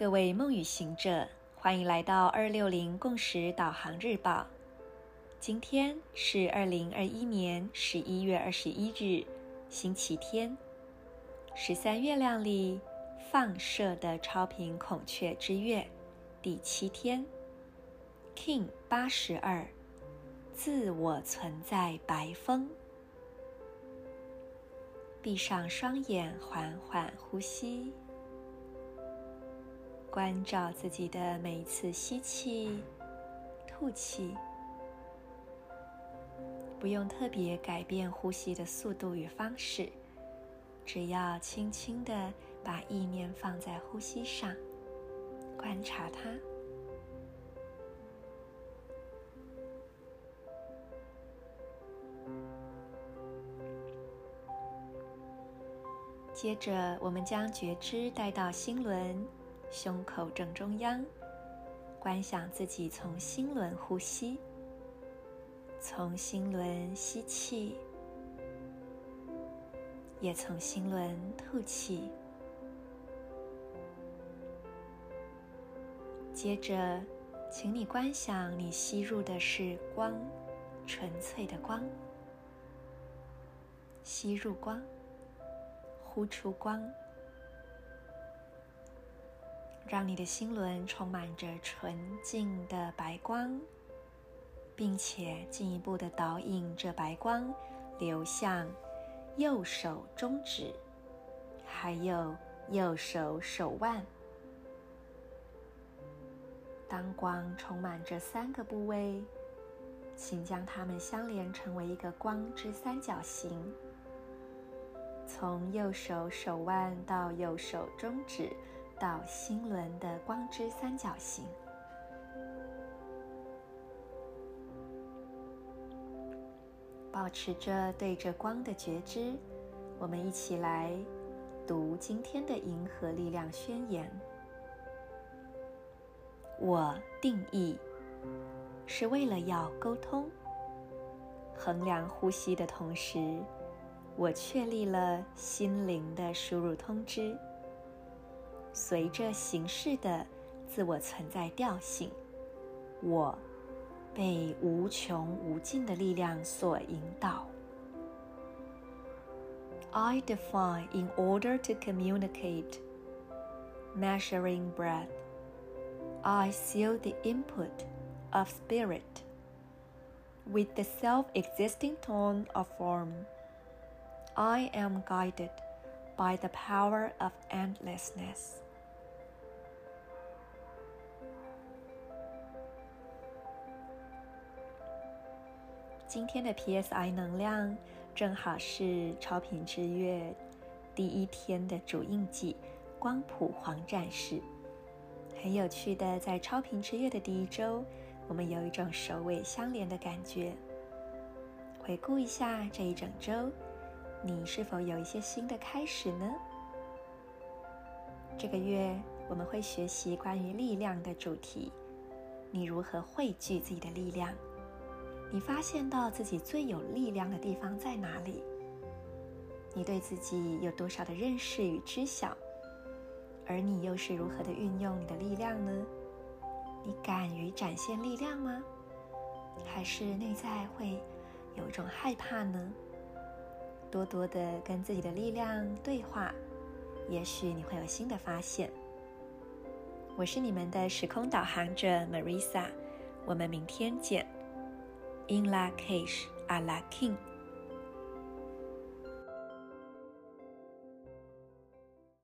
各位梦语行者，欢迎来到260共识导航日报。今天是2021年11月21日，星期天，13月亮里放射的超频孔雀之月第7天 King 82，自我存在白风。闭上双眼，缓缓呼吸，关照自己的每一次吸气、吐气，不用特别改变呼吸的速度与方式，只要轻轻地把意念放在呼吸上，观察它。接着，我们将觉知带到心轮，胸口正中央，观想自己从心轮呼吸，从心轮吸气，也从心轮吐气。接着，请你观想你吸入的是光，纯粹的光，吸入光，呼出光，让你的心轮充满着纯净的白光，并且进一步的导引这白光流向右手中指，还有右手手腕。当光充满这3个部位，请将它们相连成为一个光之三角形，从右手手腕到右手中指到心轮的光之三角形。保持着对着光的觉知，我们一起来读今天的银河力量宣言。我定义是为了要沟通，衡量呼吸的同时，我确立了心灵的输入通知，随着形式的自我存在调性，我被无穷无尽的力量所引导。 I define in order to communicate. Measuring breath, I seal the input of spirit with the self-existing tone of form. I am guided by the power of endlessness. 今天的 PSI 能量正好是超频之月第1天的主印记光谱黄战士。很有趣的，在超频之月的第1周，我们有一种首尾相连的感觉。回顾一下这一整周，你是否有一些新的开始呢？这个月我们会学习关于力量的主题，你如何汇聚自己的力量？你发现到自己最有力量的地方在哪里？你对自己有多少的认识与知晓？而你又是如何的运用你的力量呢？你敢于展现力量吗？还是内在会有一种害怕呢？多多的跟自己的力量对话，也许你会有新的发现。我是你们的时空导航者 Marisa， 我们明天见。In la Cage, a la King。